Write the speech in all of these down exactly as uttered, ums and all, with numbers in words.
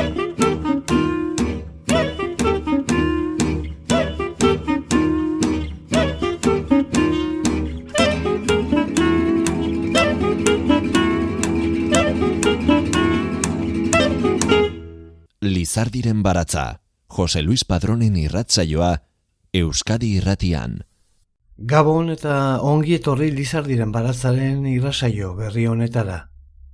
Lizardiren baratza, Jose Luis Padronen irratsaioa, Euskadi Irratian. Gabon eta ongi etorri Lizardiren baratzaren irratsaio berri honetara.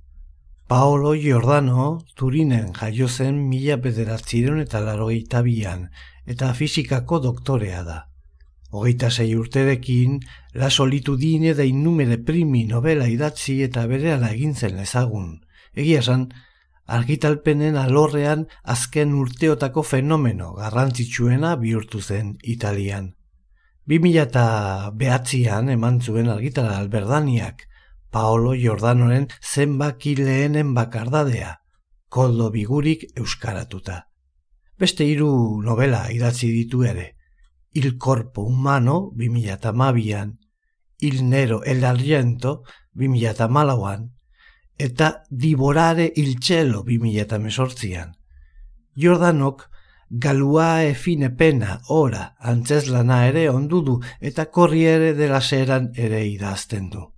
Paolo Giordano Turinen jaio zen mila bederatziehun eta laurogeita bian eta fisikako doktorea da. Hogeita sei urterekin, La solitudine dei numeri primi novela idatzi eta berehala egin zen ezagun. Egia esan, argitalpenen alorrean azken urteotako fenomeno garrantzitsuena bihurtu zen Italian. bi mila bederatzian eman zuen argitara Alberdaniak, Paolo Giordanoren zenbaki lehenen bakardadea, koldo bigurik euskaratuta. Beste hiru novela idatzi ditu ere, Il corpo umano bi mila hamabian, Il nero el argento bi mila hamalauan, eta Divorare il cielo bi mila hemezortzian. Giordanok Galuae fine pena ora antzeslana ere ondu du eta Corriere della Seran ere idazten du.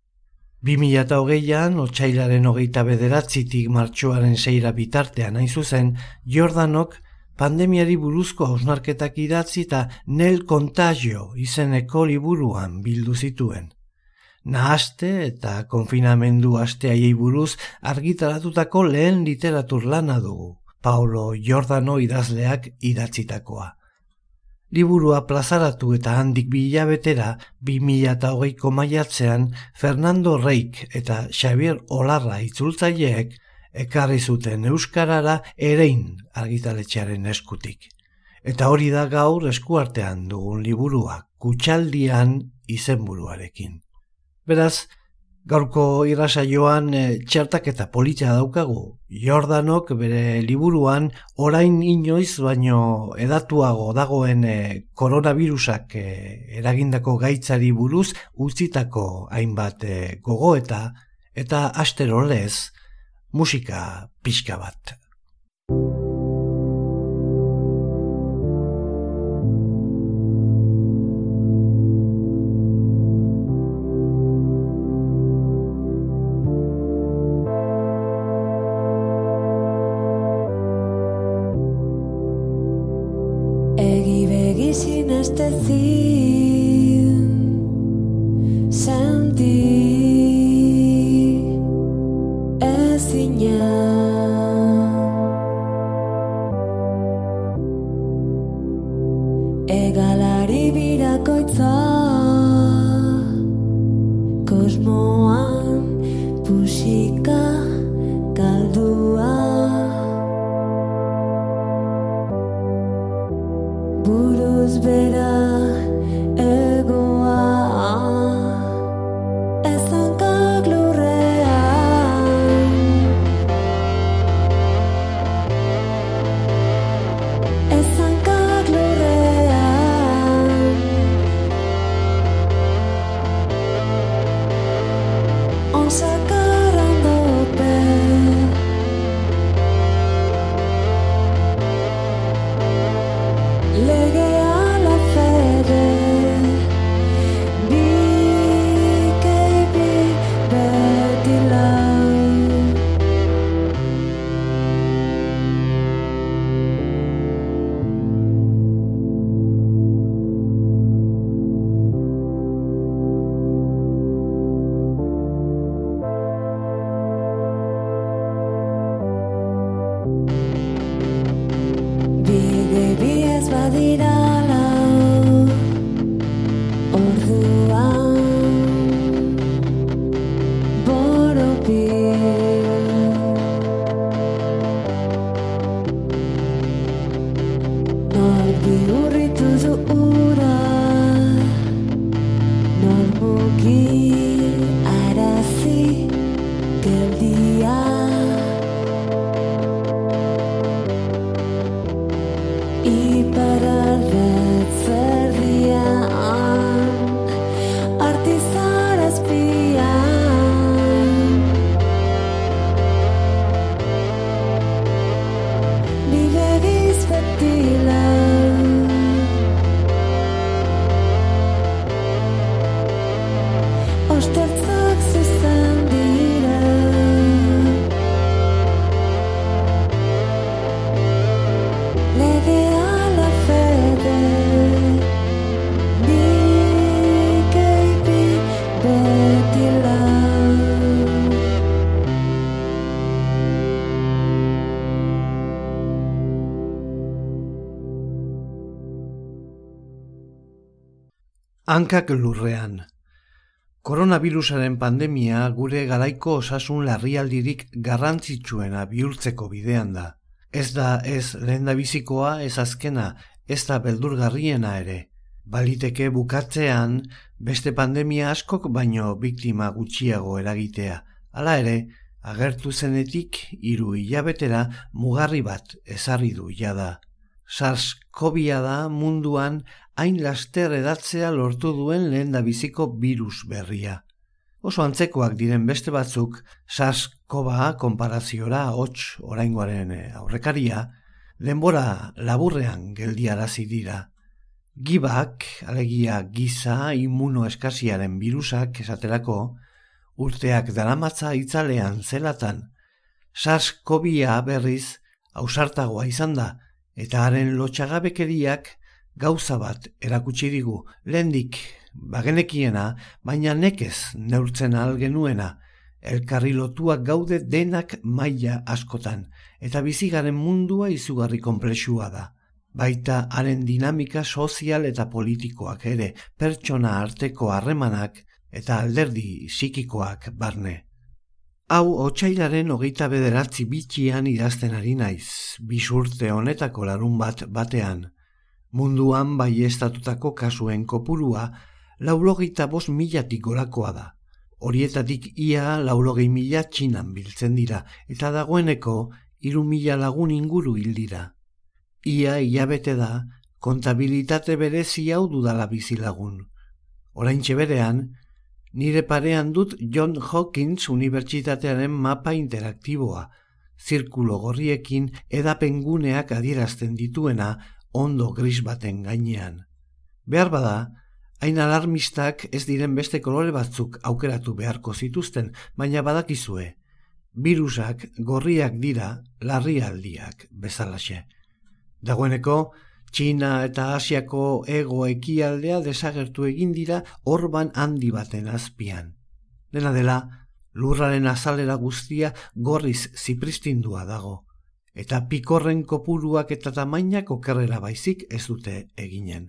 bi mila hogeian, otsailaren hogeita bederatzitik martxoaren seira bitartean hain zuzen, Giordanok pandemiari buruzko hausnarketak idatzi eta Nel Contagio izeneko liburuan bildu zituen. Nahaste eta konfinamendu asteaiei buruz argitaratutako lehen literatur lana dugu, Paolo Giordano idazleak idatzitakoa. Liburua plazaratu eta handik bi hilabetera bi mila hogeiko maiatzean Fernando Reik eta Xavier Olarra itzultzaileek ekarri zuten euskarara Erein argitaletxearen eskutik. Eta hori da gaur eskuartean dugun liburua, Kutxaldian izenburuarekin. Beraz, gaurko irratsaioan e, txertaketa polita daukagu. Giordanok bere liburuan orain inoiz baino edatuago dagoen e, koronavirusak e, eragindako gaitzari buruz utzitako hainbat e, gogoeta eta astero lez musika pixka bat. betila. Ostertzak zuzen dira. Lege ala fede. Bikeipi betila. Hankak lurrean. Koronavirusaren pandemia gure garaiko osasun larrialdirik garrantzitsuena bihurtzeko bidean da. Ez da ez lehendabizikoa, ez azkena, ez da beldurgarriena ere. Baliteke bukatzean beste pandemia askok baino biktima gutxiago eragitea. Hala ere, agertu zenetik hiru hilabetera mugarri bat ezarri du jada. SARS-CoV-a da munduan hain laster edatzea lortu duen lehendabiziko virus berria. Oso antzekoak diren beste batzuk SARS-CoV-a konparaziora hots oraingoaren aurrekaria, denbora laburrean geldiarazi dira. Gibak, alegia giza immunoeskasiaren virusak esaterako, urteak daramatza itzalean zelatan. SARS-CoV-a berriz ausartagoa izan da, eta haren lotxagabekeriak gauza bat erakutsi digu, lehendik bagenekiena, baina nekez neurtzen ahal genuena, elkarri lotuak gaude denak maila askotan, eta bizigaren mundua izugarri konplexua da. Baita haren dinamika sozial eta politikoak ere, pertsona arteko harremanak eta alderdi psikikoak barne. Hau otsailaren hogeita bederatzi bitxian idazten ari naiz, bisurte honetako larun bat batean. Munduan baiestatutako kasuen kopurua laurogeita bost milatik gorakoa da. Horietatik ia laurogei mila Txinan biltzen dira, eta dagoeneko hiru mila lagun inguru hil dira. Ia hilabete da, kontabilitate berezi hau dudala bizilagun. Oraintxe berean, nire parean dut John Hopkins Unibertsitatearen mapa interaktiboa, zirkulo gorriekin edapenguneak adierazten dituena ondo gris baten gainean. Behar bada, hain alarmistak ez diren beste kolore batzuk aukeratu beharko zituzten, baina badakizue, virusak gorriak dira larrialdiak bezalaxe. Dagoeneko, Txina eta Asiako hego ekialdea desagertu egin dira orban handi baten azpian. Dena dela, lurraren azalera guztia gorriz zipristindua dago, eta pikorren kopuruak eta tamainak okerrera baizik ez dute eginen.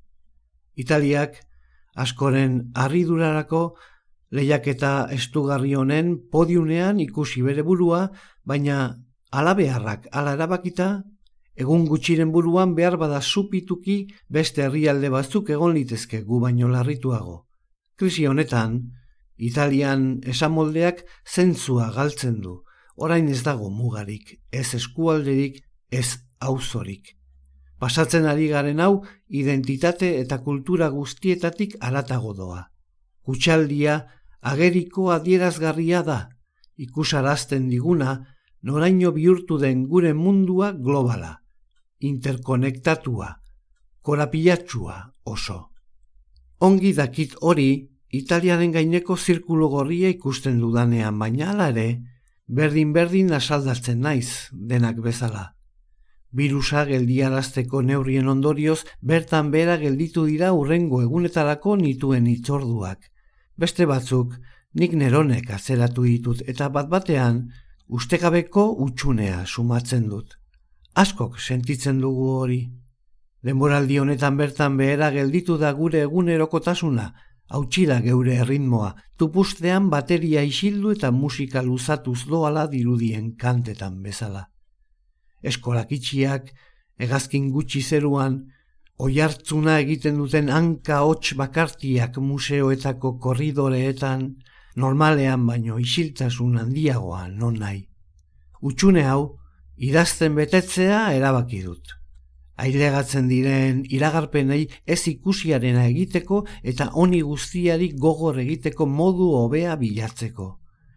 Italiak, askoren harridurarako, lehiaketa estugarri honen podiunean ikusi bere burua, baina alabeharrak ala erabakita, egun gutxiren buruan behar bada supituki beste herrialde batzuk egon litezke gu baino larrituago. Krisi honetan, Italian esamoldeak zentzua galtzen du, orain ez dago mugarik, ez eskualderik, ez auzorik. Pasatzen ari garen hau, identitate eta kultura guztietatik haratago doa. Kutxaldia ageriko adierazgarria da, ikusarazten diguna, noraino bihurtu den gure mundua globala, interkonektatua, korapilatxua oso. Ongi dakit hori, Italiaren gaineko zirkulo gorria ikusten dudanean, baina hala ere, berdin-berdin asaldatzen naiz, denak bezala. Birusa geldiarazteko neurrien ondorioz, bertan behera gelditu dira hurrengo egunetarako nituen hitzorduak. Beste batzuk, nik neronek atzeratu ditut eta bat-batean, ustekabeko utxunea sumatzen dut. Askok sentitzen dugu hori. Denboraldi honetan bertan behera gelditu da gure egunerokotasuna, hautsi da geure erritmoa, tupustean bateria isildu eta musika luzatuz doala dirudien kantetan bezala. Eskolak itxiak, hegazkin gutxi zeruan, oihartzuna egiten duten hanka hots bakartiak museoetako korridoreetan, normalean baino isiltasun handiagoa non nahi. Utxune hau, idazten betetzea erabaki dut. Ailegatzen diren iragarpenei ez ikusiarena egiteko eta honi guztiari gogor egiteko modu hobea bilatzeko.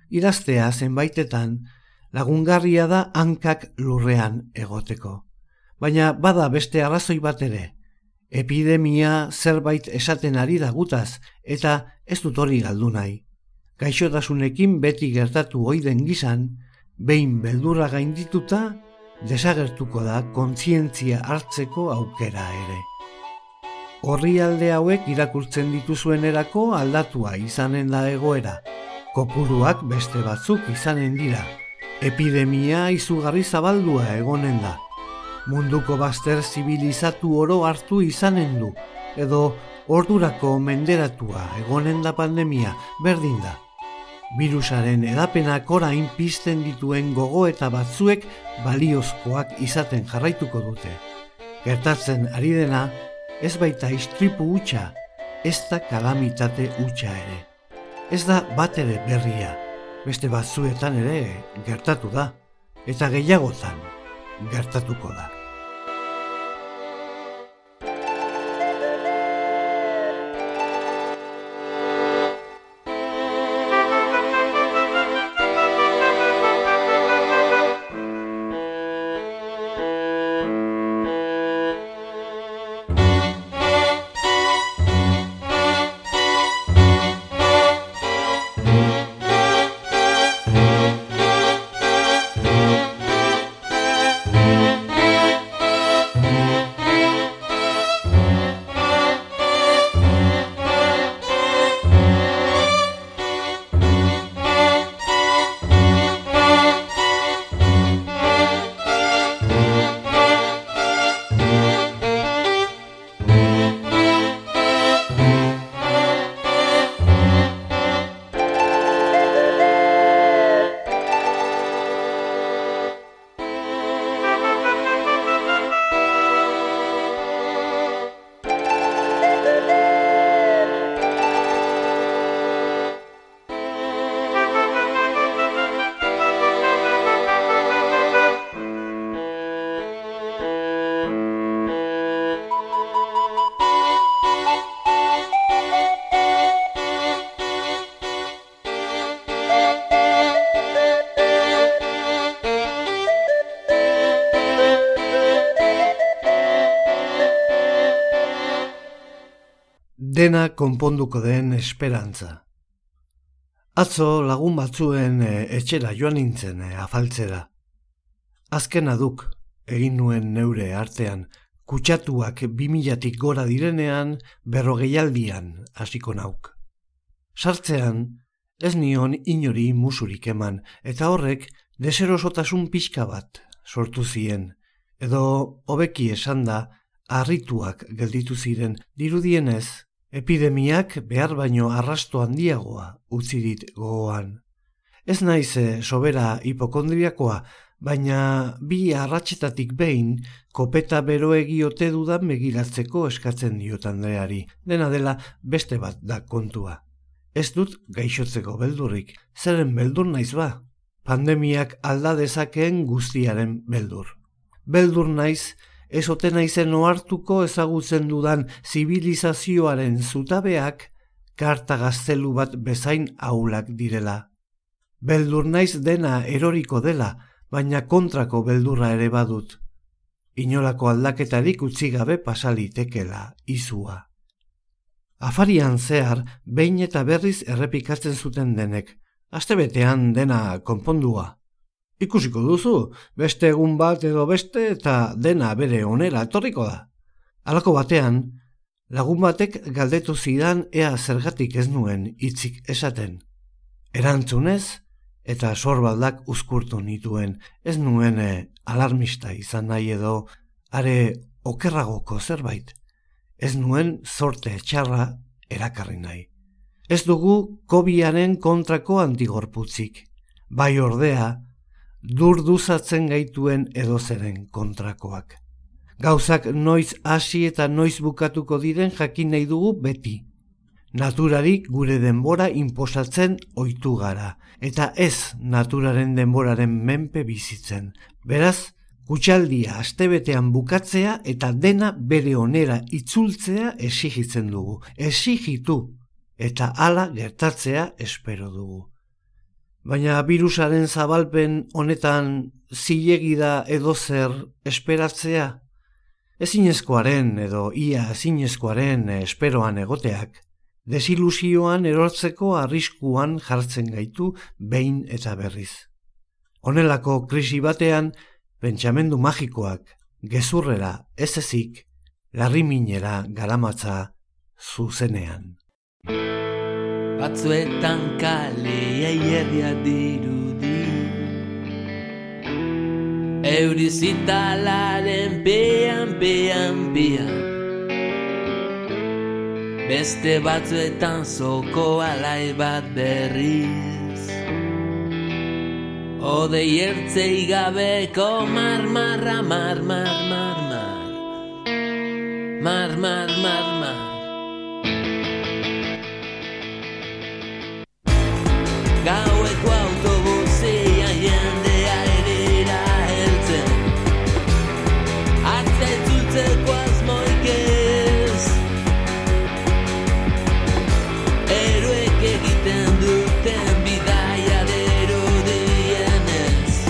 Idaztea zenbaitetan lagungarria da hankak lurrean egoteko. Baina bada beste arrazoi bat ere. Epidemia zerbait esaten ari da gutaz, eta ez dut hori galdu nahi. Gaixotasunekin beti gertatu ohi den gizan, behin beldurra gaindituta, desagertuko da kontzientzia hartzeko aukera ere. Orrialde hauek irakurtzen dituzuenerako aldatua izanen da egoera. Kopuruak beste batzuk izanen dira. Epidemia izugarri zabaldua egonen da. Munduko bazter zibilizatu oro hartu izanen du, edo ordurako menderatua egonen da pandemia, berdin da. Birusaren edapenak orain pizten dituen gogoeta batzuek baliozkoak izaten jarraituko dute. Gertatzen ari dena, ez baita istripu hutsa, ez da kalamitate hutsa ere. Ez da bat ere berria, beste batzuetan ere gertatu da, eta gehiagotan gertatuko da. Dena konponduko den esperantza. Atzo lagun batzuen e, etxera joan nintzen e, afaltzera. Azkena duk egin nuen neure artean, kutsatuak bimilatik gora direnean berrogeialdian hasiko nauk. Sartzean ez nion inori musurik eman, eta horrek deserosotasun pixka bat sortu zien, edo hobeki esanda harrituak gelditu ziren, dirudienez, epidemiak behar baino arrasto handiagoa utzi dit gogoan. Ez naiz sobera hipokondriakoa, baina bi arratsetatik behin kopeta beroegi ote dudan begiratzeko eskatzen diot Andreari. Dena dela beste bat da kontua. Ez dut gaixotzeko beldurrik, zeren beldur naiz ba? Pandemiak alda dezakeen guztiaren beldur. Beldur naiz, ez ote naizen ohartuko ezagutzen dudan zibilizazioaren zutabeak karta gaztelu bat bezain ahulak direla. Beldur naiz dena eroriko dela, baina kontrako beldurra ere badut. Inolako aldaketarik utzi gabe pasalitekela izua. Afarian zehar, behin eta berriz errepikatzen zuten denek, astebetean dena konpondua. Ikusiko duzu, beste egun bat edo beste eta dena bere onera etorriko da. Halako batean, lagun batek galdetu zidan ea zergatik ez nuen hitzik esaten. Erantzunez eta sorbaldak uzkurtu nituen, ez nuen e, alarmista izan nahi edo are okerragoko zerbait. Ez nuen zorte txarra erakarri nahi. Ez dugu kobiaren kontrako antigorputzik, bai ordea, durduzatzen gaituen edozeren kontrakoak. Gauzak noiz hasi eta noiz bukatuko diren jakin nahi dugu beti. Naturari gure denbora inposatzen ohitu gara, eta ez naturaren denboraren menpe bizitzen. Beraz, kutxaldia astebetean bukatzea eta dena bere onera itzultzea exigitzen dugu. Exigitu eta hala gertatzea espero dugu. Baina birusaren zabalpen honetan zilegi da edozer esperatzea? Ezinezkoaren edo ia ezinezkoaren esperoan egoteak, desilusioan erortzeko arriskuan jartzen gaitu behin eta berriz. Honelako krisi batean, pentsamendu magikoak, gezurrera ez ezik, larriminera garamatza zuzenean. Batzuetan kalea hierria dirudi, eurizitalaren pean, pean, pean. Beste batzuetan zoko alai bat berriz, odei ertzei gabeko mar, marra, mar, mar, mar, mar, mar, mar, mar, mar. Gaueko autobusea jendea erera heltzen, atza itzultzeko asmoik ez, eroek egiten duten bidaia dirudienez,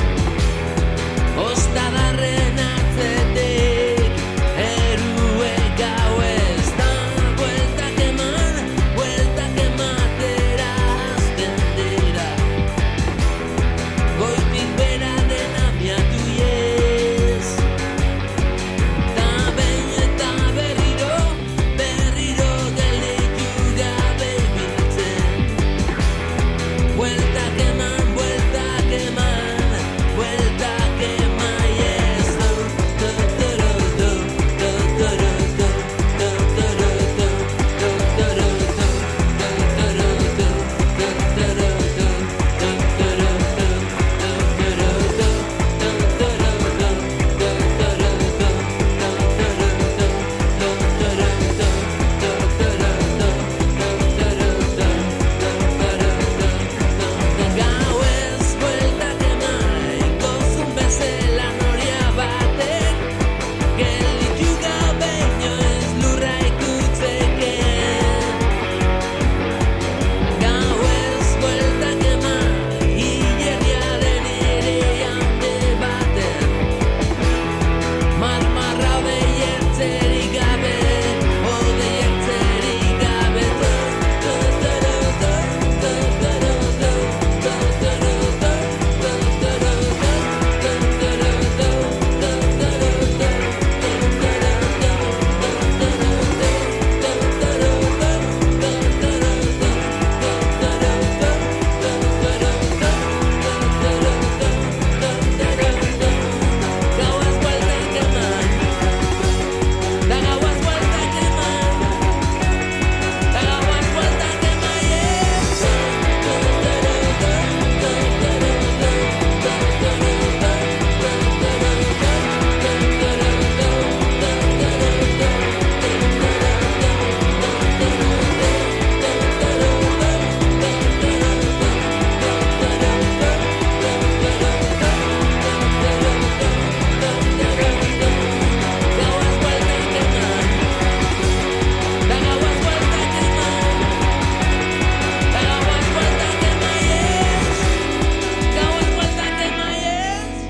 ostadarren atzetik eruek gauez da, bueltak eman, bueltak ematera azten dira, goitik bera dena miatu iez, ta behin eta berriro, berriro gelditu gabe ibiltzen, bueltak eman, bueltak eman, bueltak emaiez, do, do, do, do, do, do, do, do, do, do, do, do, gauez bueltak eman, gozun bezala noria batek, gelditu gabe inoiz lurra ikutzeke. Gauez bueltak eman, hilerriaren ere hande baten, marmarra odei ertzerik gabe, odei ertzerik gabe, do, do, do, do, do, do, do, do, do, do, do, gauez bueltak eman, da gauez bueltak eman, da gauez bueltak emaiez, gauez bueltak eman, da gauez bueltak eman, da gauez bueltak emaiez, gauez bueltak emaiez.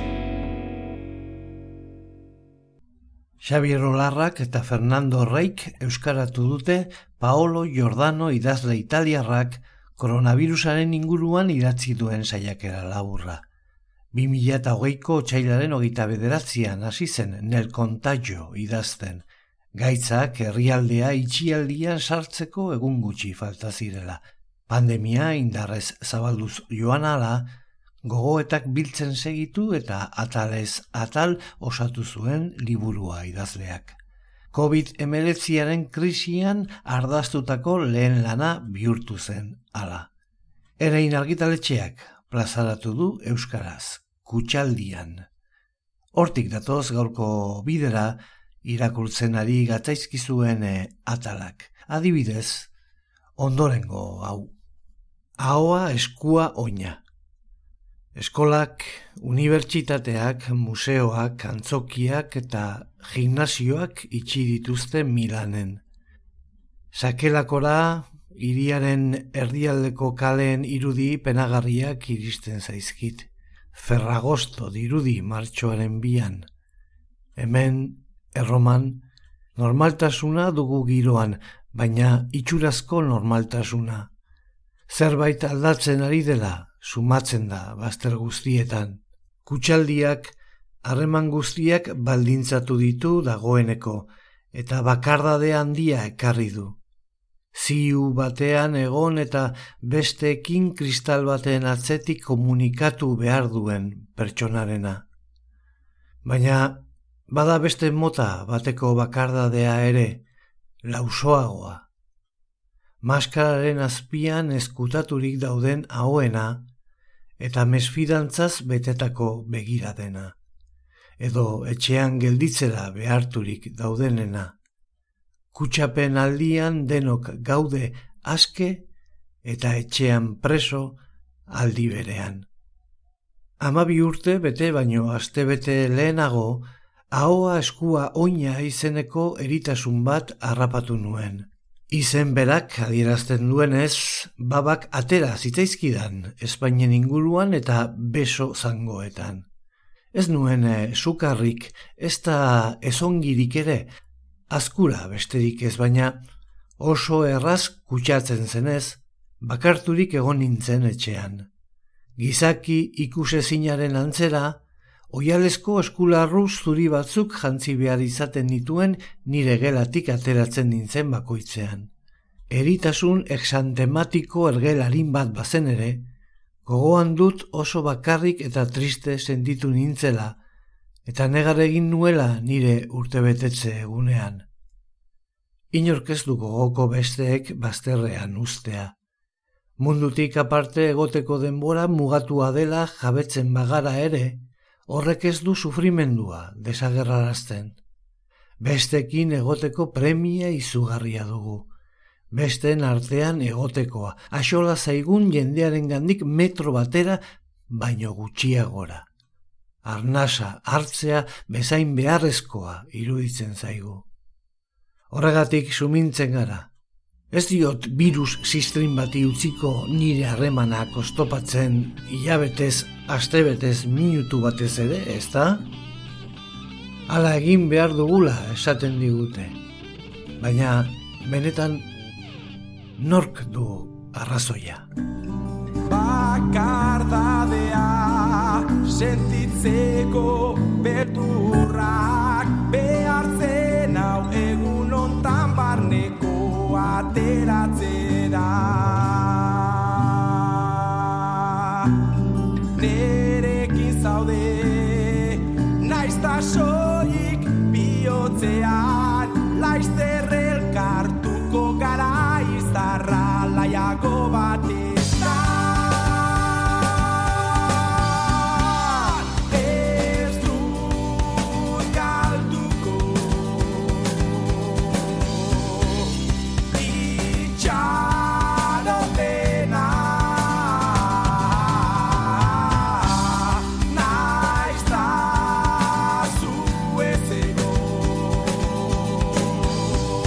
Xabier Olarrak eta Fernando Reik euskaratu dute Paolo Giordano idazle italiarrak koronavirusaren inguruan idatzi duen saiakera laburra. bi mila hogeiko otsailaren hogeita bederatzian hasi zen Nel Contagio idazten, gaitzak herrialdea itxialdian sartzeko egun gutxi falta zirela. Pandemia indarrez zabalduz joan ala, gogoetak biltzen segitu eta atalez atal osatu zuen liburua idazleak. covid hemeretziaren krisian ardaztutako lehen lana bihurtu zen hala. Erein argitaletxeak plazaratu du euskaraz, Kutxaldian. Hortik datoz gaurko bidera irakurtzen ari gatzaizkizuen atalak. Adibidez, ondorengo hau. Ahoa eskua oina. Eskolak, unibertsitateak, museoak, antzokiak eta gimnasioak itxi dituzte Milanen. Sakelakora, hiriaren erdialdeko kaleen irudi penagarriak iristen zaizkit. Ferragosto dirudi martxoaren bian. Hemen Erroman, normaltasuna dugu giroan, baina itxurazko normaltasuna. Zerbait aldatzen ari dela, sumatzen da bazter guztietan. Kutxaldiak, harreman guztiak baldintzatu ditu dagoeneko, eta bakardade handia ekarri du. Ziu batean egon eta besteekin kristal baten atzetik komunikatu behar duen pertsonarena. Baina, bada beste mota bateko bakardadea ere, lausoagoa. Maskararen azpian ezkutaturik dauden ahoena eta mesfidantzaz betetako begiradena, edo etxean gelditzera beharturik daudenena. Kutxapen aldian denok gaude aske eta etxean preso aldi berean. Hamabi urte bete baino astebete lehenago, ahoa eskua oina izeneko eritasun bat harrapatu nuen. Izen berak adierazten duenez, babak atera zitzaizkidan Espainien inguruan eta beso zangoetan. Ez nuen e, sukarrik, ez da ezongirik ere, azkura besterik ez, baina oso erraz kutsatzen zenez, bakarturik egon nintzen etxean. Gizaki ikusezinaren antzera, oialesko eskularru zuri batzuk jantzi behar izaten nituen nire gelatik ateratzen nintzen bakoitzean. Eritasun exantematiko ergelarin bat bazen ere, gogoan dut oso bakarrik eta triste sentitu nintzela, eta negar egin nuela nire urtebetetze egunean. Inork ez du gogoko besteek bazterrean ustea. Mundutik aparte egoteko denbora mugatua dela jabetzen bagara ere, horrek ez du sufrimendua desagerrarazten. Bestekin egoteko premia izugarria dugu. Besteen artean egotekoa, axola zaigun jendearen gandik metro batera baino gutxiagora. Arnasa hartzea bezain beharrezkoa iruditzen zaigu. Horregatik sumintzen gara. Ez diot virus zistrin bati utziko nire harremanak oztopatzen hilabetez, astebetez, minutu batez ere, ez da? Hala egin behar dugula esaten digute. Baina, benetan, nork du arrazoia. Bakardadea sentitzeko beldurrak behartzen hau egun ontan barneko ateratzera. Nerekin zaude naizta soilik bihotzean, laizter elkartuko gara izarra laiago batean. Ez dut galduko itxaropena, naiz da zu ez egon.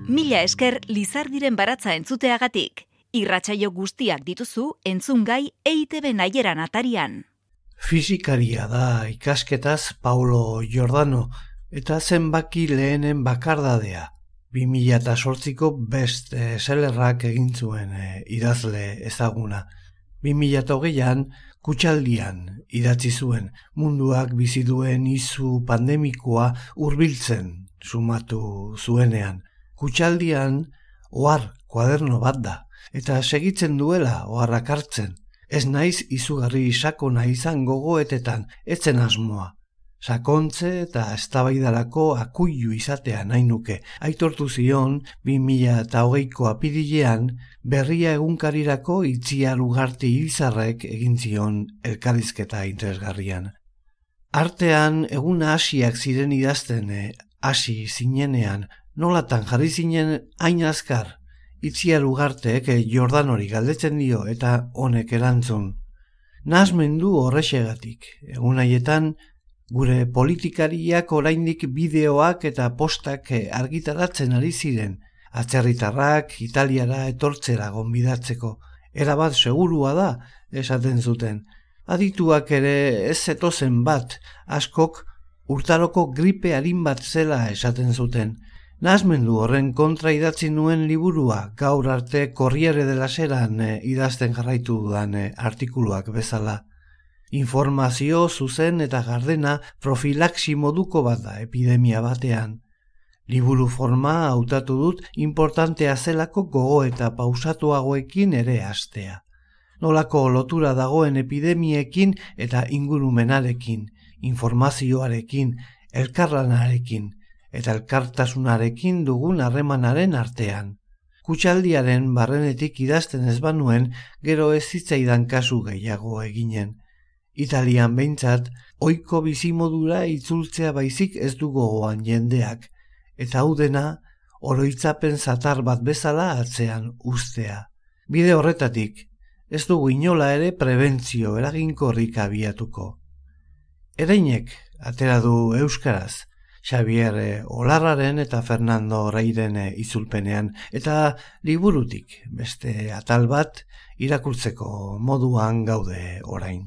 Mila esker Lizardiren baratza entzuteagatik. Irratsaio guztiak dituzu entzungai E I Te Be Naieran atarian. Fisikaria da ikasketaz Paulo Giordano eta zenbaki lehenen bakardadea. bi mila zortziko best sellerrak egin zuen e, idazle ezaguna. bi mila hogeian Kutxaldian idatzi zuen munduak bizi duen izu pandemikoa hurbiltzen sumatu zuenean. Kutxaldian ohar kuaderno bat da eta segitzen duela oharrak hartzen. Ez naiz izugarri sakona izan gogoetetan, etzen asmoa. Sakontze eta eztabaidarako akuilu izatea nahi nuke. Aitortu zion bi mila hogeiko apirilean Berria egunkarirako Itziar Ugarte Irizarrek egin zion elkarrizketa interesgarrian. Artean eguna hasiak ziren idazten, hasi zinenean, nolatan jarri zinen hain azkar. Itziar Ugartek Jordanori galdetzen dio eta honek erantzun. Nahasmendu horrexegatik, egun haietan gure politikariak oraindik bideoak eta postak argitaratzen ari ziren, atzerritarrak Italiara etortzera gonbidatzeko. Erabat segurua da, esaten zuten. Adituak ere ez zetozen bat, askok urtaroko gripe arin bat zela esaten zuten. Nahasmendu horren kontra idatzi nuen liburua, gaur arte Corriere della Seran e, idazten jarraitu dudan e, artikuluak bezala. Informazio zuzen eta gardena profilaxi moduko bat da epidemia batean. Liburu forma hautatu dut importantea zelako gogo eta pausatuagoekin ere hastea. Nolako lotura dagoen epidemiekin eta ingurumenarekin, informazioarekin, elkarlanarekin, eta elkartasunarekin dugun harremanaren artean. Kutxaldiaren barrenetik idazten ez banuen, gero ez zitzaidan kasu gehiago eginen. Italian behintzat, ohiko bizimodura itzultzea baizik ez du gogoan jendeak, eta hau dena oroitzapen zatar bat bezala atzean uztea. Bide horretatik, ez dugu inola ere prebentzio eraginkorrik abiatuko. Ereinek atera du euskaraz, Xavier Olarraren eta Fernando Reiren itzulpenean, eta liburutik beste atal bat irakurtzeko moduan gaude orain.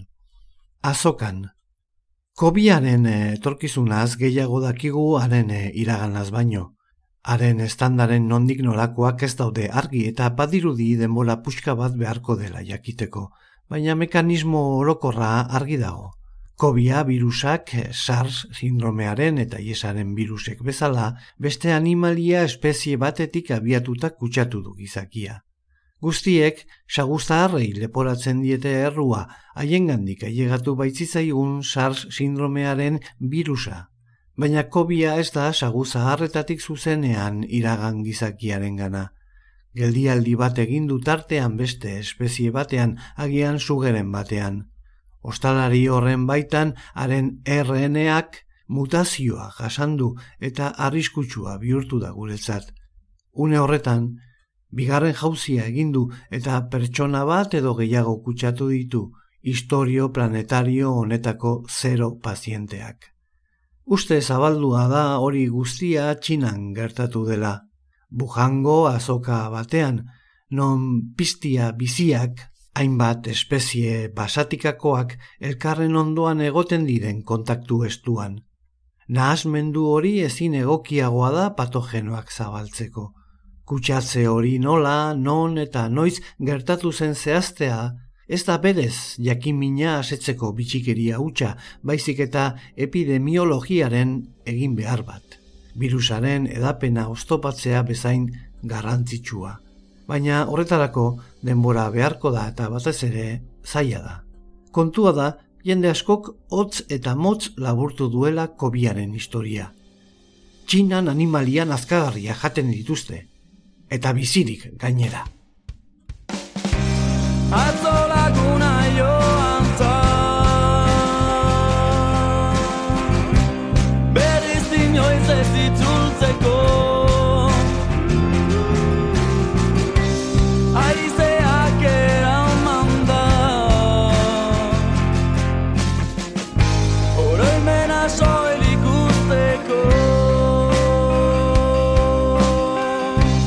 Azokan. Kobiaren etorkizunaz gehiago dakigu haren iraganaz baino. Haren estandaren nondik nolakoak ez daude argi eta badirudi denbora puxka bat beharko dela jakiteko, baina mekanismo orokorra argi dago. Kobia virusak SARS sindromearen eta iesaren virusek bezala beste animalia espezie batetik abiatuta kutsatu du gizakia. Guztiek saguzarrei leporatzen diete errua, haiengandik ailegatu baitzizaigun SARS sindromearen virusa. Baina kobia ez da saguzaharretatik zuzenean iragan gizakiarengana. Geldialdi bat egin du tartean beste espezie batean, agian sugeren batean. Ostalari horren baitan haren R N A-ak mutazioa jasandu eta arriskutsua bihurtu da guretzat. Une horretan, bigarren jauzia egindu eta pertsona bat edo gehiago kutsatu ditu historio planetario honetako zero pazienteak. Uste zabaldua da hori guztia Txinan gertatu dela. Bujango azoka batean, non piztia biziak, hainbat espezie basatikakoak elkarren ondoan egoten diren kontaktu estuan. Nahasmendu hori ezin egokiagoa da patogenoak zabaltzeko. Kutsatze hori nola, non eta noiz gertatu zen zehaztea, ez da berez jakimina asetzeko bitxikeria hutsa, baizik eta epidemiologiaren egin behar bat. Virusaren edapena oztopatzea bezain garrantzitsua. Baina horretarako denbora beharko da eta batez ere zaila da. Kontua da, jende askok hotz eta motz laburtu duela kobiaren historia. Txinan animalian azkagarria jaten dituzte, eta bizirik gainera. Atzo laguna joan zan, berriz inoiz ez itzultzeko. Haizeak eraman da, oroimena soilik usteko.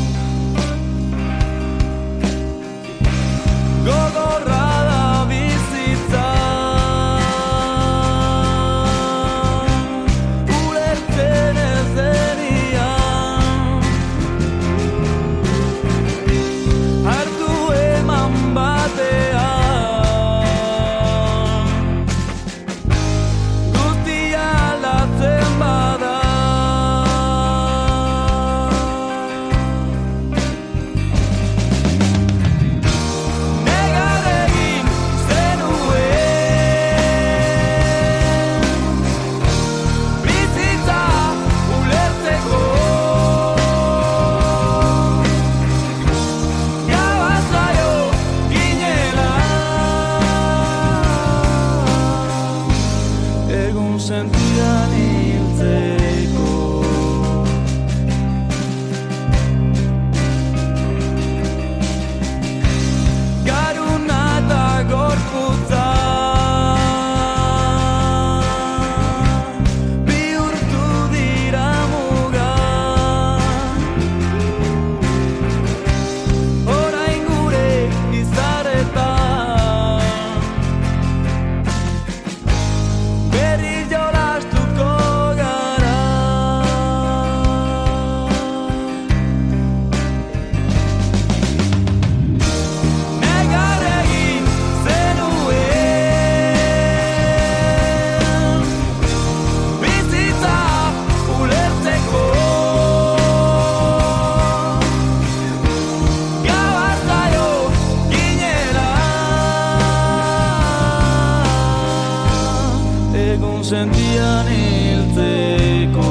sentian hiltzeko.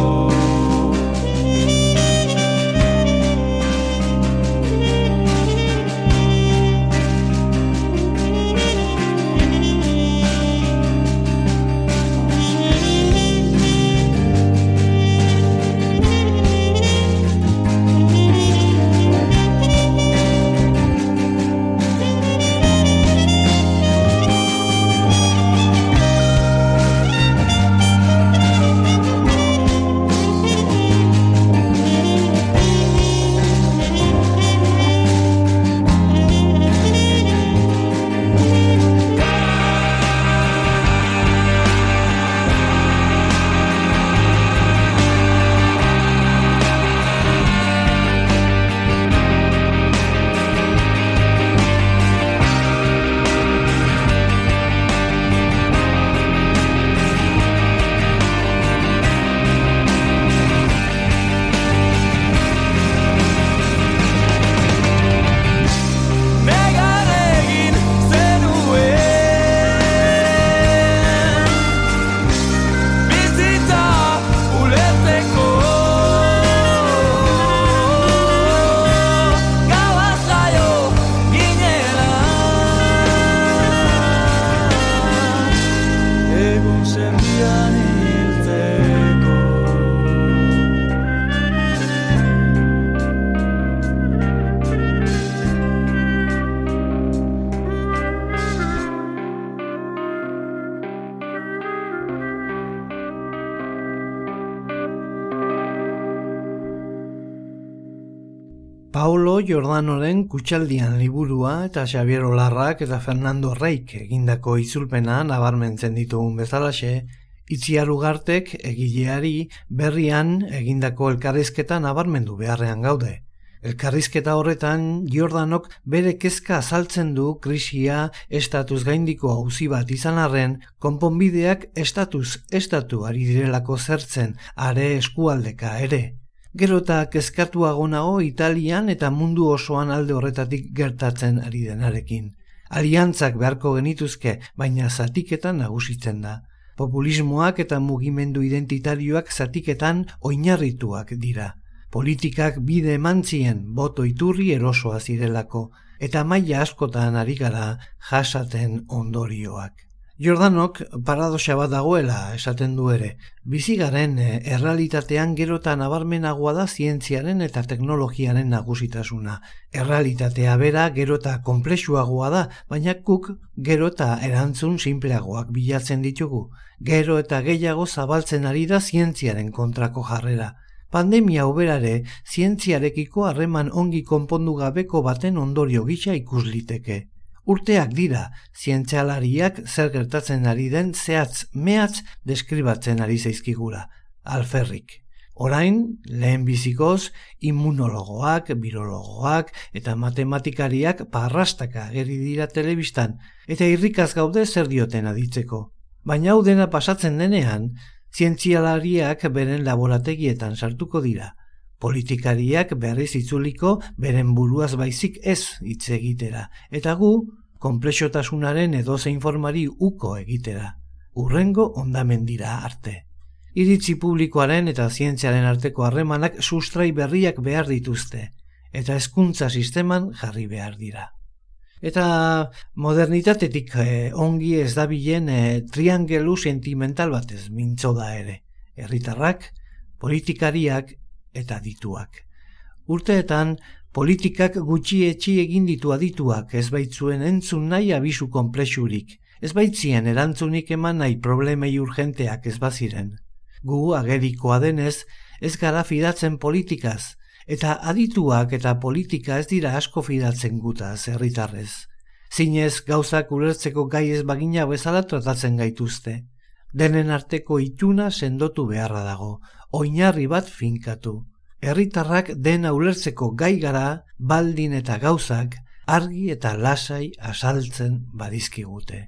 Paulo Giordanoren Kutxaldian liburua eta Xabier Olarrak eta Fernando Reik egindako itzulpena nabarmentzen ditugun bezalaxe, Itziar Ugartek egileari berrian egindako elkarrizketa nabarmendu beharrean gaude. Elkarrizketa horretan Giordanok bere kezka azaltzen du krisia estatuz gaindiko auzi bat izan arren, konponbideak estatuz estatu ari direlako zertzen, are eskualdeka ere. Gero eta kezkatuago nago Italian eta mundu osoan alde horretatik gertatzen ari denarekin. Aliantzak beharko genituzke, baina zatiketan nagusitzen da. Populismoak eta mugimendu identitarioak zatiketan oinarrituak dira. Politikak bide emantzien boto iturri erosoa zirelako, eta maila askotan ari gara jasaten ondorioak. Giordanok paradoxa bat dagoela esaten du ere, bizigaren errealitatean gero eta nabarmenagoa da zientziaren eta teknologiaren nagusitasuna. Errealitatea bera gero eta konplexuagoa da, baina guk gero eta erantzun sinpleagoak bilatzen ditugu. Gero eta gehiago zabaltzen ari da zientziaren kontrako jarrera. Pandemia uberare zientziarekiko harreman ongi konpondu gabeko baten ondorio gisa ikus liteke. Urteak dira, zientzialariak zer gertatzen ari den zehatz mehatz deskribatzen ari zaizkigura, alferrik. Orain, lehenbizikoz, immunologoak, birologoak eta matematikariak parrastaka ageri dira telebistan, eta irrikaz gaude zer dioten aditzeko. Baina hau dena pasatzen denean, zientzialariak beren laborategietan sartuko dira. Politikariak berriz itzuliko beren buruaz baizik ez hitz egitera, eta gu konplexotasunaren edozein formari uko egitera, urrengo ondamendira arte. Iritzi publikoaren eta zientziaren arteko harremanak sustrai berriak behar dituzte, eta hezkuntza sisteman jarri behar dira. Eta modernitatetik eh, ongi ez dabilen eh, triangelu sentimental batez mintzo da ere, herritarrak, politikariak eta dituak. Urteetan, politikak gutxietxi egin ditu adituak, ez baitzuen entzun nahi abisu konplexurik, ez baitzien erantzunik eman nahi problemei urgenteak ez baziren. Gu agerikoa denez, ez gara fidatzen politikaz, eta adituak eta politika ez dira asko fidatzen gutaz herritarrez. Zinez gauzak ulertzeko gai ez bagina bezala tratatzen gaituzte. Denen arteko ituna sendotu beharra dago, oinarri bat finkatu. Herritarrak dena ulertzeko gai gara, baldin eta gauzak, argi eta lasai azaltzen badizkigute.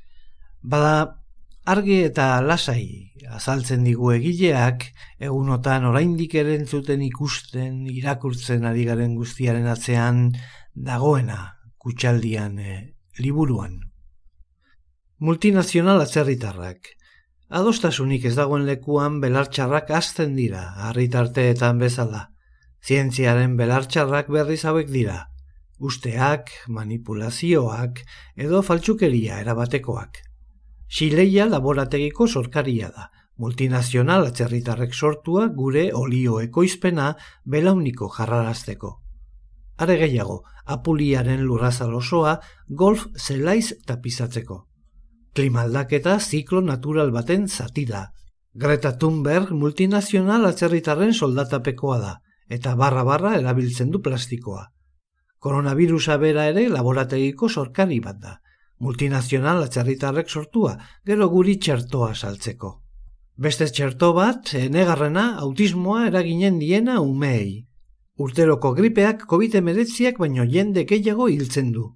Bada, argi eta lasai azaltzen digu egileak, egunotan oraindik erentzuten ikusten, irakurtzen ari garen guztiaren atzean dagoena Kutxaldian e, liburuan. Multinazional atzerritarrak. Adostasunik ez dagoen lekuan belartxarrak hazten dira, harritarteetan bezala. Zientziaren belartxarrak berriz hauek dira. Usteak, manipulazioak edo faltsukeria erabatekoak. Xileia laborategiko sorkaria da. Multinazional atzerritarrek sortua gure olio ekoizpena belauniko jarrarazteko. Are gehiago, Apuliaren lurrazal osoa golf zelaiz tapizatzeko. Klimaldaketa ziklo natural baten zati da. Greta Thunberg multinazional atzerritarren soldatapekoa da, eta barra-barra erabiltzen du plastikoa. Koronavirusa bera ere laborategiko sorkari bat da. Multinazional atzerritarrek sortua, gero guri txertoa saltzeko. Beste txerto bat, enegarrena, autismoa eraginen diena umeei. Urteroko gripeak covid hemeretziak baino jende gehiago hiltzen du.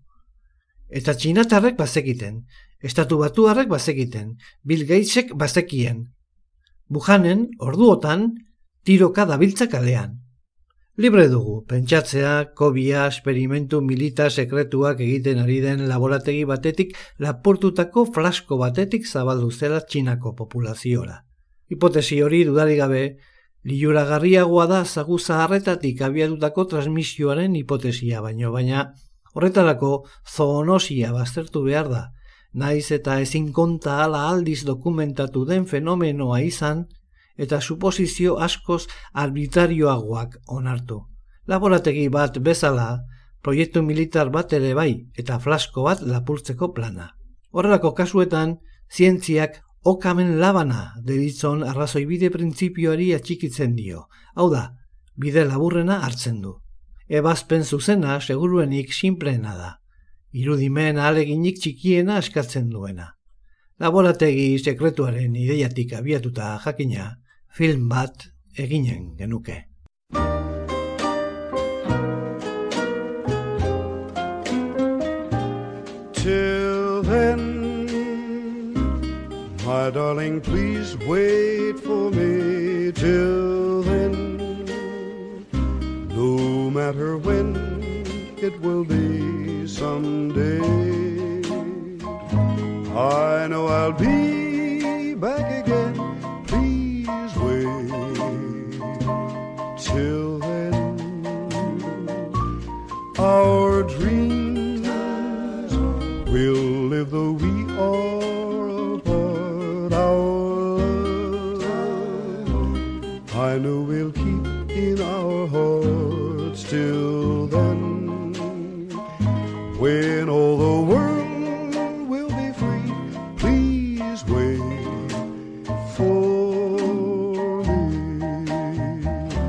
Eta txinatarrek bazekiten, estatu batuarrek bazekiten, Bill Gatesek bazekien. Wuhanen, orduotan, tiroka dabiltza kalean. Libre dugu, pentsatzea, kobia, esperimentu milita sekretuak egiten ari den laborategi batetik lapurtutako flasko batetik zabaldu zela Txinako populaziora. Hipotesi hori dudarik gabe, liluragarriagoa da zagu zaharretatik abiatutako transmisioaren hipotesia baino, baina horretarako zoonosia baztertu behar da, naiz eta ezin konta ala aldiz dokumentatu den fenomenoa izan, eta suposizio askoz arbitrarioagoak onartu. Laborategi bat bezala, proiektu militar bat ere bai, eta flasko bat lapurtzeko plana. Horrelako kasuetan, zientziak okamen labana deritzon arrazoibide printzipioari atxikitzen dio. Hau da, bide laburrena hartzen du. Ebazpen zuzena seguruenik sinpleena da. Irudimen ahaleginik txikiena eskatzen duena. Laborategi sekretuaren ideiatik abiatuta jakina, film bat eginen genuke. Till then, my darling, please wait for me. Till then, no matter when it will be someday, I know I'll be back again. Please wait. Till then, our dreams will live though we are apart. Our love, I know we'll keep in our hearts. Till then, when all the world will be free, please wait for me.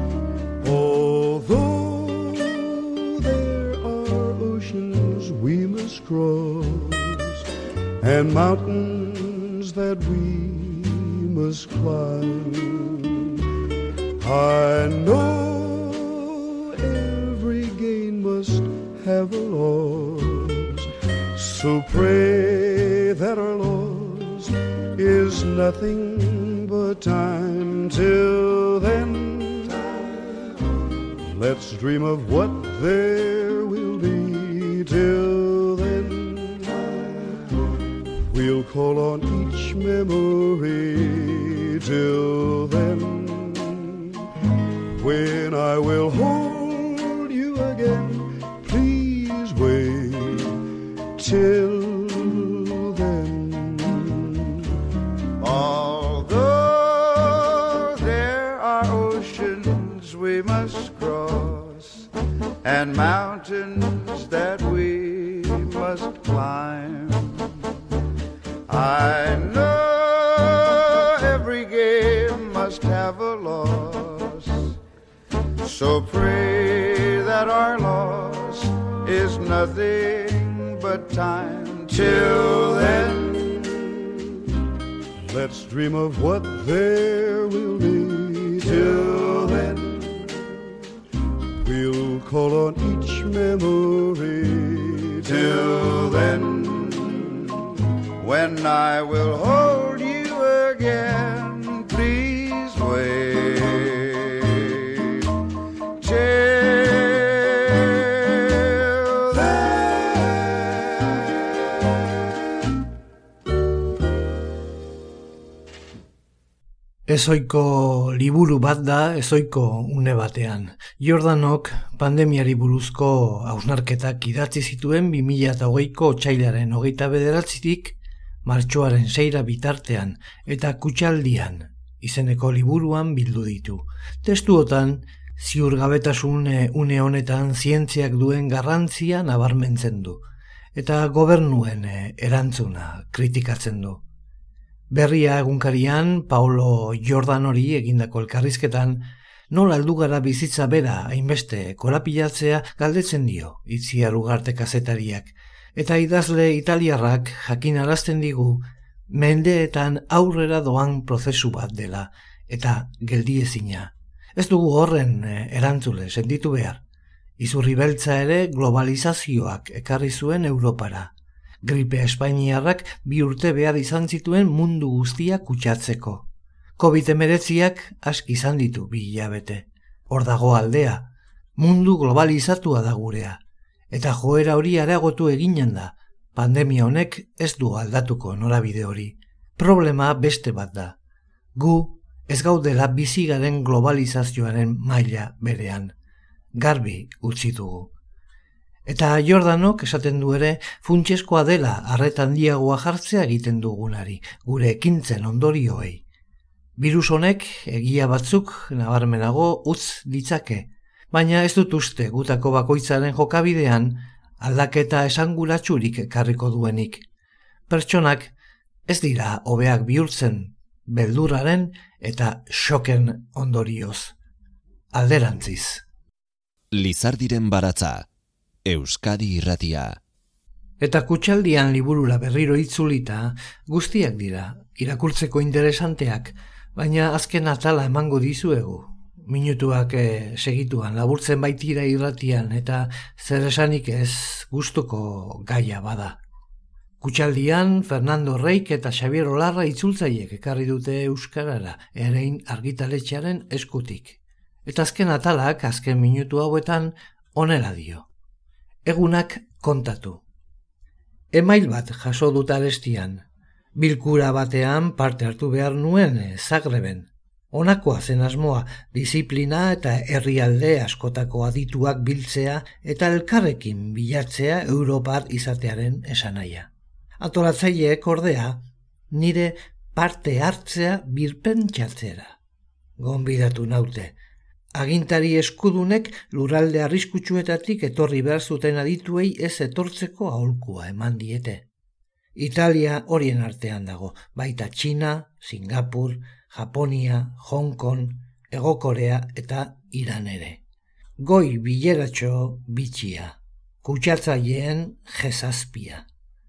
Although there are oceans we must cross and mountains that we must climb, I know every gain must have a loss. So pray that our loss is nothing but time. Till then, let's dream of what there will be. Till then, we'll call on each memory. Till then, when I will hold you again, please wait. Till then, although there are oceans we must cross and mountains that we must climb, I know every game must have a loss. So pray that our loss is nothing but time. Till then, let's dream of what there will be. Till then, we'll call on each memory. Till then, when I will hold you again, please wait. Ezoiko liburu bat da, ezoiko une batean. Jordanok pandemiari buruzko hausnarketak idatzi zituen bi mila hogeiko otsailaren hogeita bederatzitik martxoaren seira bitartean eta Kutxaldian izeneko liburuan bildu ditu. Testuotan, ziurgabetasun une honetan zientziak duen garrantzia nabarmentzen du, eta gobernuen erantzuna kritikatzen du. Berria egunkarian, Paulo Jordanori egindako elkarrizketan, nola heldu gara bizitza bera hainbeste korapilatzea galdetzen dio Itziar Ugarte kazetariak, eta idazle italiarrak jakinarazten digu mendeetan aurrera doan prozesu bat dela, eta geldiezina. Ez dugu horren erantzule sentitu behar. Izurri beltza ere globalizazioak ekarri zuen Europara. Gripe espainiarrak bi urte behar izan zituen mundu guztia kutsatzeko. covid hemeretziak aski izan ditu bi hilabete. Hor dago aldea, mundu globalizatua da gurea. Eta joera hori areagotu eginen da, pandemia honek ez du aldatuko norabide hori. Problema beste bat da. Gu ez gaudela bizi garen globalizazioaren maila berean. Garbi utzi dugu. Eta Jordanok esaten du ere funtsezkoa dela arreta handiagoa jartzea egiten dugunari, gure ekintzen ondorioei. Virus honek egia batzuk nabarmenago utz ditzake, baina ez dut uste gutako bakoitzaren jokabidean aldaketa esanguratsurik ekarriko duenik. Pertsonak ez dira hobeak bihurtzen beldurraren eta xoken ondorioz. Alderantziz. Lizardiren baratza, Euskadi Irratia. Eta Kutxaldian liburura berriro itzulita guztiak dira, irakurtzeko interesanteak, baina azken atala emango dizuegu. Minutuak eh, segituan laburtzen baitira irratian eta zer esanik ez gustuko gaia bada. Kutxaldian Fernando Reik eta Xabier Olarra itzultzaiek ekarri dute euskarara, Erein argitaletxearen eskutik. Eta azken atalak, azken minutu hauetan, honela dio. Egunak kontatu. Email bat jaso dut arestian. Bilkura batean parte hartu behar nuen Zagreben. Honakoa zen asmoa, disiplina eta herrialde askotako adituak biltzea eta elkarrekin bilatzea Europar izatearen esanahia. Antolatzaileek ordea, nire parte hartzea birpentsatzera. Gonbidatu naute. Agintari eskudunek lurralde arriskutsuetatik etorri behar zuten adituei ez etortzeko aholkua eman diete. Italia horien artean dago, baita Txina, Singapur, Japonia, Hong Kong, Hego Korea eta Iran ere. Goi bileratxo bitxia, kutsatzaileen jezazpia.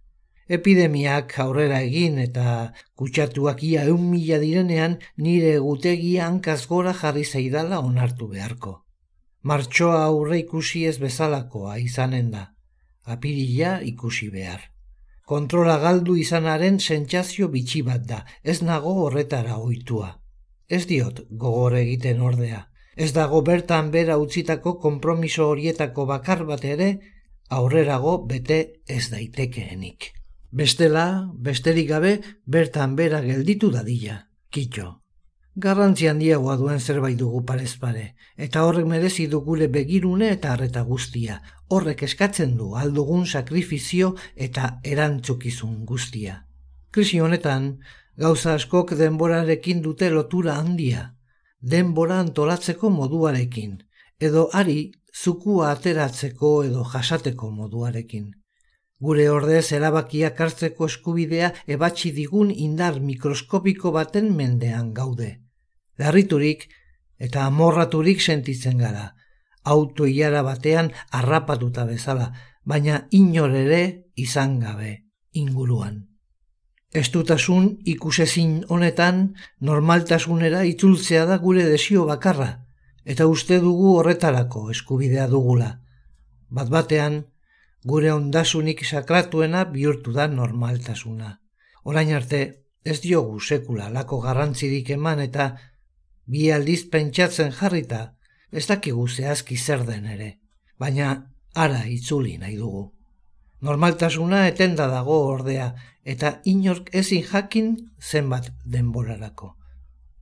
Epidemiak aurrera egin eta kutsatuak ia eun mila direnean nire egutegia hankaz gora jarri zaidala onartu beharko. Martxoa aurre ikusi ez bezalakoa izanen da, apirila ikusi behar. Kontrola galdu izanaren sentsazio bitxi bat da, ez nago horretara ohitua. Ez diot gogor egiten ordea, ez dago bertan bera utzitako konpromiso horietako bakar bat ere aurrerago bete ez daitekeenik. Bestela, besterik gabe, bertan bera gelditu dadila, kitxo. Garrantzi handiagoa duen zerbait dugu parez pare, eta horrek merezi du gure begirune eta arreta guztia. Horrek eskatzen du aldugun sakrifizio eta erantzukizun guztia. Krisi honetan, gauza askok denborarekin dute lotura handia, denbora antolatzeko moduarekin, edo ari zukua ateratzeko edo jasateko moduarekin. Gure ordez erabakiak hartzeko eskubidea ebatzi digun indar mikroskopiko baten mendean gaude. Larriturik eta amorraturik sentitzen gara, auto ilara batean harrapatuta bezala, baina inor ere izan gabe inguruan. Estutasun ikusezin honetan normaltasunera itzultzea da gure desio bakarra, eta uste dugu horretarako eskubidea dugula. Bat batean, gure ondasunik sakratuena bihurtu da normaltasuna. Orain arte, ez diogu sekula lako garrantzirik eman eta bi aldiz pentsatzen jarrita, ez dakigu zehazki zer den ere, baina ara itzuli nahi dugu. Normaltasuna etenda dago ordea, eta inork ezin jakin zenbat denborarako.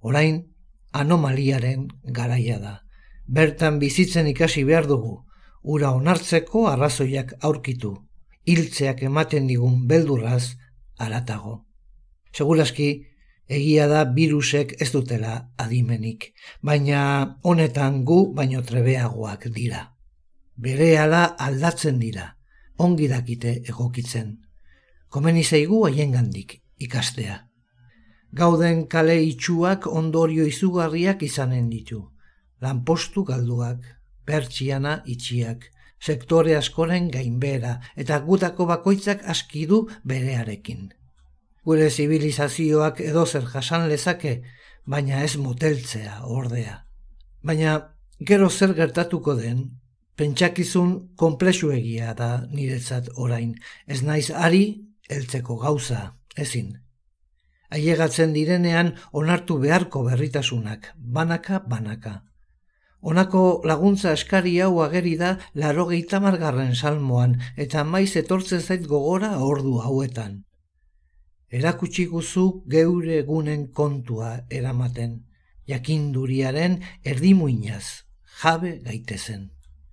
Orain, anomaliaren garaia da. Bertan bizitzen ikasi behar dugu, ura onartzeko arrazoiak aurkitu, hiltzeak ematen digun beldurraz haratago. Seguraski, egia da birusek ez dutela adimenik, baina honetan gu baino trebeagoak dira. Berehala aldatzen dira, ongi dakite egokitzen. Komeni zaigu haiengandik ikastea. Gauden kale itxuak ondorio izugarriak izanen ditu. Lanpostu galduak, pertsiana itxiak, sektore askoren gainbehera eta gutako bakoitzak aski du berearekin. Gure zibilizazioak edozer jasan lezake, baina ez moteltzea ordea. Baina gero zer gertatuko den, pentsakizun konplexuegia da niretzat orain, ez naiz ari heltzeko gauza, ezin. Ailegatzen direnean onartu beharko berritasunak, banaka-banaka. Honako laguntza eskari hau ageri da laurogeita hamargarren salmoan eta maiz etortzen zait gogora ordu hauetan. Erakutsi guzu geure egunen kontua eramaten, jakinduriaren erdimuinaz jabe gaitezen.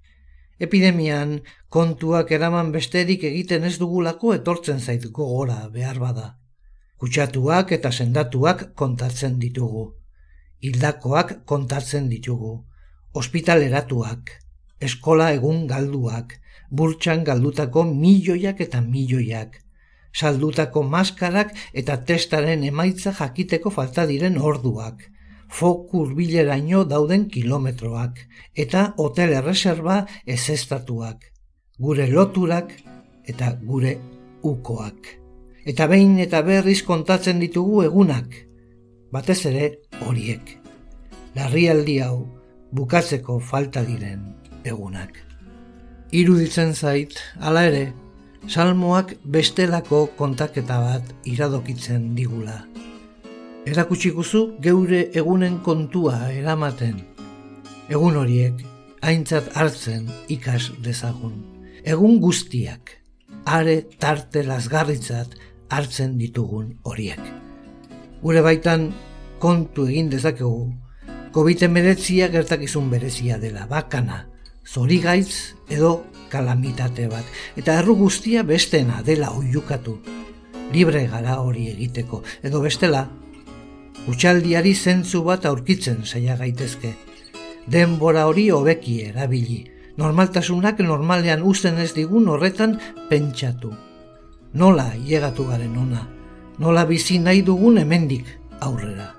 Epidemian kontuak eraman besterik egiten ez dugulako etortzen zait gogora behar bada. Kutsatuak eta sendatuak kontatzen ditugu. Hildakoak kontatzen ditugu. Ospitaleratuak, eskola egun galduak, burtsan galdutako milioiak eta milioiak, saldutako maskarak eta testaren emaitza jakiteko falta diren orduak, foku hurbileraino dauden kilometroak, eta hotel erreserba ezeztatuak, gure loturak eta gure ukoak. Eta behin eta berriz kontatzen ditugu egunak, batez ere horiek. Larrialdi hau bukatzeko falta diren egunak. Iruditzen zait, hala ere, salmoak bestelako kontaketa bat iradokitzen digula. Erakutsi guzu geure egunen kontua eramaten. Egun horiek aintzat hartzen ikas dezagun. Egun guztiak, are tarte lasgarritzat hartzen ditugun horiek. Gure baitan kontu egin dezakegu, covid hemeretzia gertakizun berezia dela, bakana, zorigaitz edo kalamitate bat, eta erru guztia bestena dela oiukatu. Libre gara hori egiteko, edo bestela, utxaldiari zentzu bat aurkitzen saia gaitezke. Denbora hori hobeki erabili, normaltasunak normalean uzten ez digun horretan pentsatu. Nola llegatu garen ona, nola bizi nahi dugun hemendik aurrera.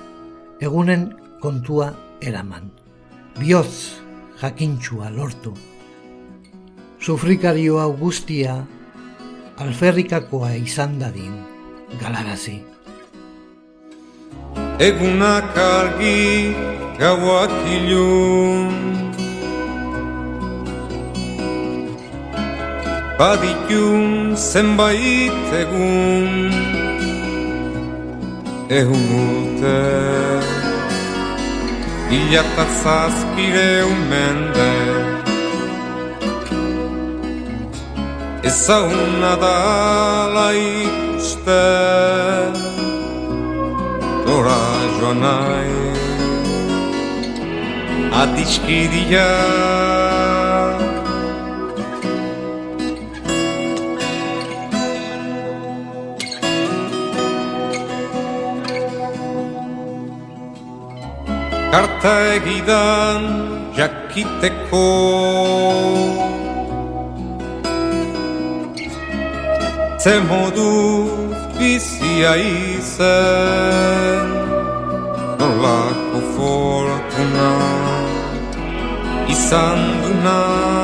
Egunen kontua eraman, bihotz jakintxua lortu. Sufrikario hau guztia alferrikakoa izan dadin galarazi. Egunak argi, gauak ilun, baditun zenbait egun, egun urte, hilata zazpireun mende, ezaguna dala ikuste, nora joan nahi, adiskidia. Karta egidan jakiteko, ze moduz bizia izen, nolako fortuna izan duna.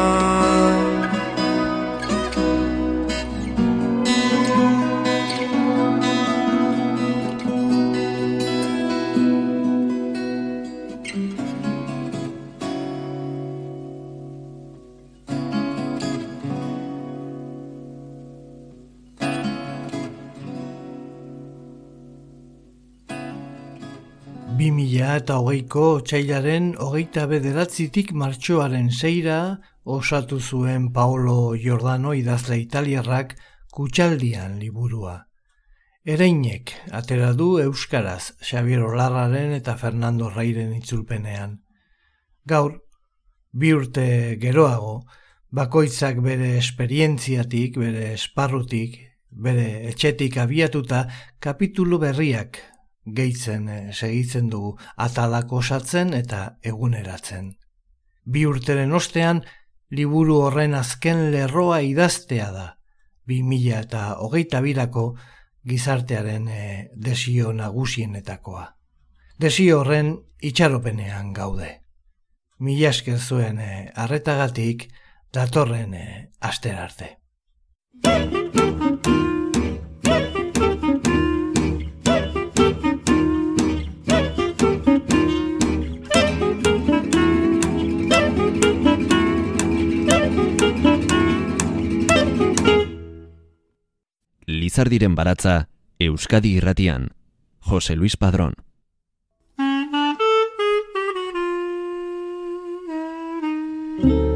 bi mila eta hogeiko otsailaren hogeita bederatzitik martxoaren seira osatu zuen Paolo Giordano idazle italiarrak Kutxaldian liburua. Ereinek atera du euskaraz Xabier Olarraren eta Fernando Reiren itzulpenean. Gaur, bi urte geroago, bakoitzak bere esperientziatik, bere esparrutik, bere etxetik abiatuta kapitulu berriak gehitzen eh, segitzen dugu atalak osatzen eta eguneratzen. Bi urteren ostean, liburu horren azken lerroa idaztea da, bi mila eta hogeita birako gizartearen e, desio nagusienetakoa. Desio horren itxaropenean gaude. Mila esker zuen e, arretagatik datorren e, astera arte. Lizardiren baratza, Euskadi Irratian. Jose Luis Padrón. Thank you.